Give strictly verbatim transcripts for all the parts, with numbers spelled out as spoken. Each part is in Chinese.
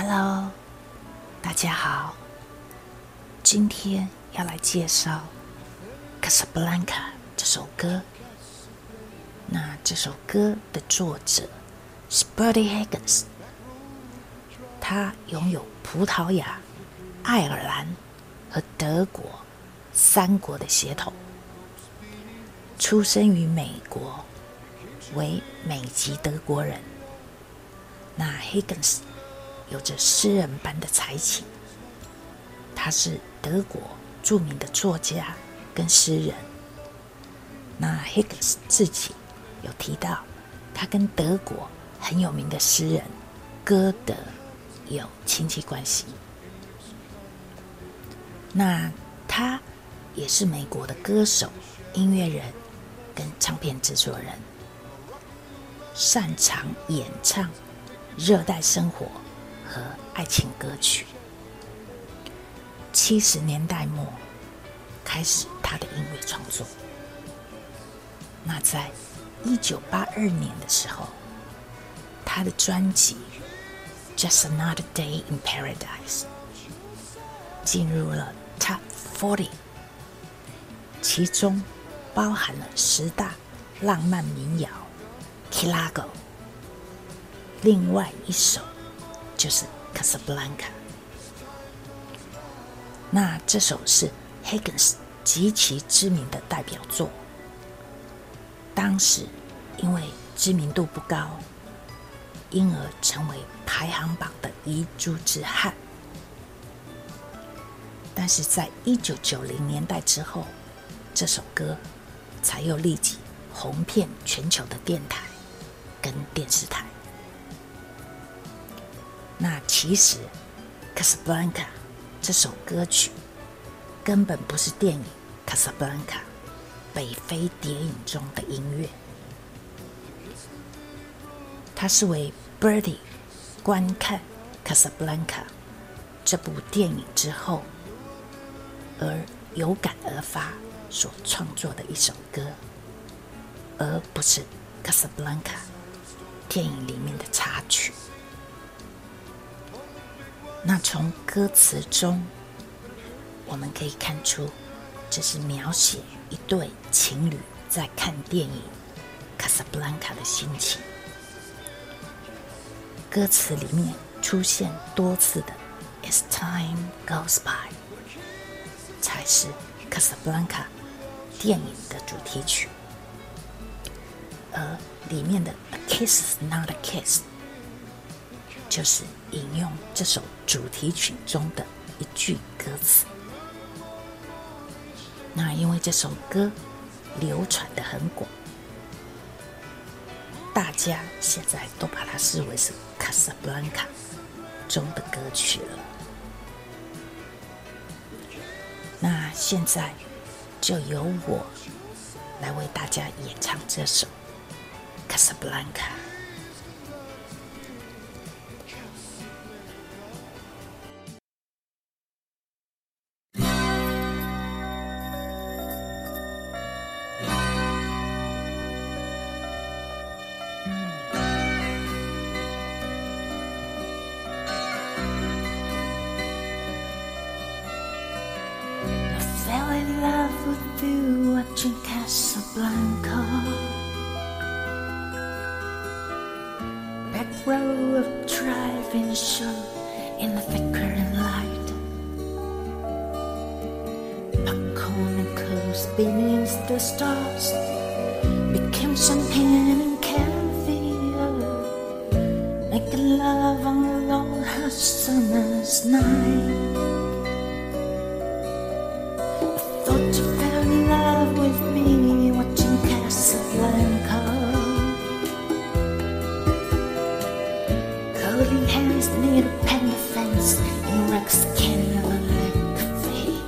Hello， 大家好，今天要来介绍《Casablanca》这首歌。那这首歌的作者是 Bertie Higgins， 他拥有葡萄牙、爱尔兰和德国三国的血统，出生于美国，为美籍德国人。那 Higgins 有着诗人般的才情，他是德国著名的作家跟诗人。那 Higgins 自己有提到，他跟德国很有名的诗人歌德有亲戚关系。那他也是美国的歌手、音乐人跟唱片制作人，擅长演唱热带生活和爱情歌曲。七十年代末开始他的音乐创作。那在一九八二年的时候，他的专辑《Just Another Day in Paradise》进入了 Top 四十，其中包含了十大浪漫民谣《Chicago》，另外一首就是《Casablanca》。那这首是 Higgins 极其知名的代表作，当时因为知名度不高，因而成为排行榜的遗珠之憾。但是在一九九零年代之后，这首歌才又立即红遍全球的电台跟电视台。那其实 Casablanca 这首歌曲根本不是电影 Casablanca 北非谍影中的音乐，它是为 Bertie 观看 Casablanca 这部电影之后而有感而发所创作的一首歌，而不是 Casablanca 电影里面的插曲。那从歌词中我们可以看出，这是描写一对情侣在看电影 Casablanca 的心情。歌词里面出现多次的 As time goes by 才是 Casablanca 电影的主题曲，而里面的 A kiss is not a kiss 就是引用这首主题曲中的一句歌词。那因为这首歌流传得很广，大家现在都把它视为是 Casablanca 中的歌曲了。那现在就由我来为大家演唱这首 Casablanca。 Fell in love with you watching Casablanca. Back row of driving show in the flickering light. Back on the coast beneath the stars became champagne and caviar, making love on a long hot summer's night. You fell in love with me watching Casablanca. Holding hands near the pen fence in Rex Canyon Lake Cafe,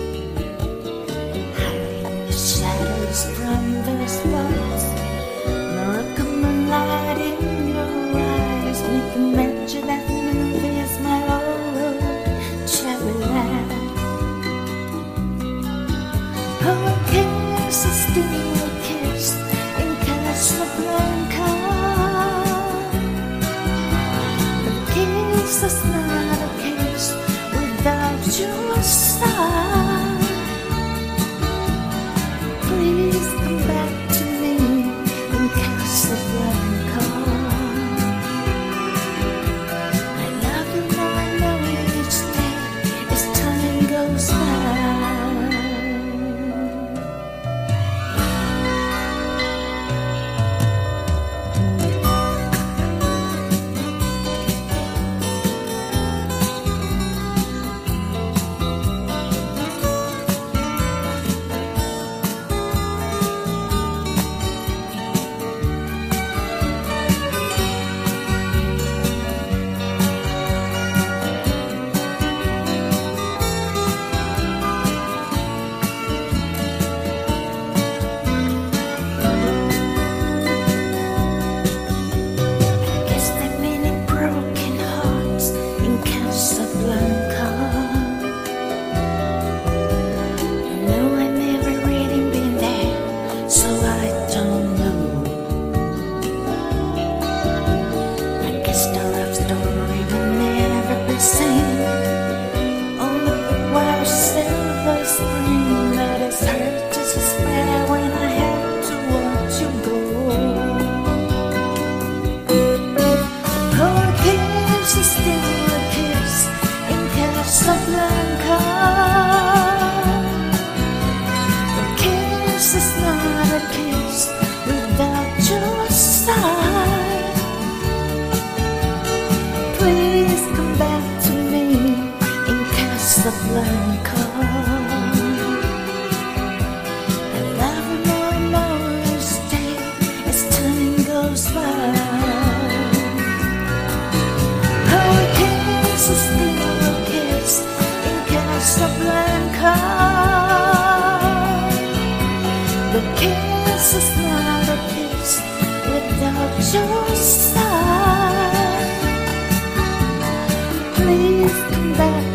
hiding the shadows from the spots. Morocco moonlight in your eyes, making mention that movie is my old cherry land. Oh, a kiss is still a kiss in Casablanca. A kiss kiss is not a kiss without your side. Please come back to me in Casablanca. I love you more and more each day as time goes by. Casablanca. The kiss is not a kiss without your side. Please come back to me in Casablanca. I love you more and more each day as time goes by. Oh, a kiss is still a kiss in Casablanca. The kiss is not a kiss without your side. Please come back